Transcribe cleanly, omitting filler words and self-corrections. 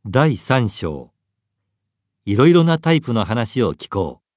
第3章。いろいろなタイプの話を聞こ